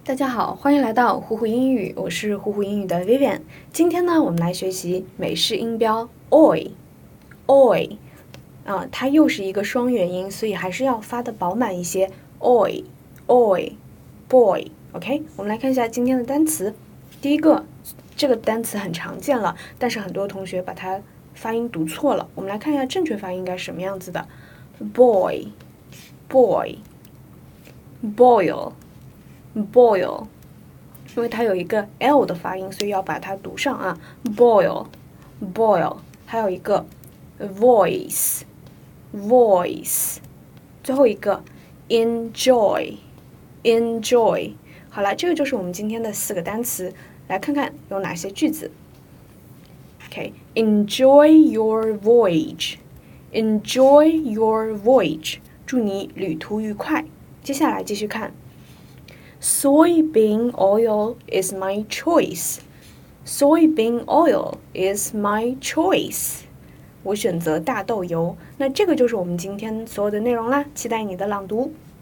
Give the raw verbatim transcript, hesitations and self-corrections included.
大家好，欢迎来到虎虎英语，我是虎虎英语的 Vivian。今天呢，我们来学习美式音标 oi，oi， 啊，它又是一个双元音，所以还是要发的饱满一些 oi，oi，boy。OK， 我们来看一下今天的单词。第一个，这个单词很常见了，但是很多同学把它发音读错了。我们来看一下正确发音应该是什么样子的 ：boy，boy，boil。因为它有一个 L 的发音，所以要把它读上啊 boil boil。 还有一个 voice voice， 最后一个 enjoy enjoy。 好了，这个就是我们今天的四个单词，来看看有哪些句子。 OK， enjoy your voyage enjoy your voyage， 祝你旅途愉快。接下来继续看Soybean oil is my choice. Soybean oil is my choice. 我选择大豆油。那这个就是我们今天所有的内容啦，期待你的朗读。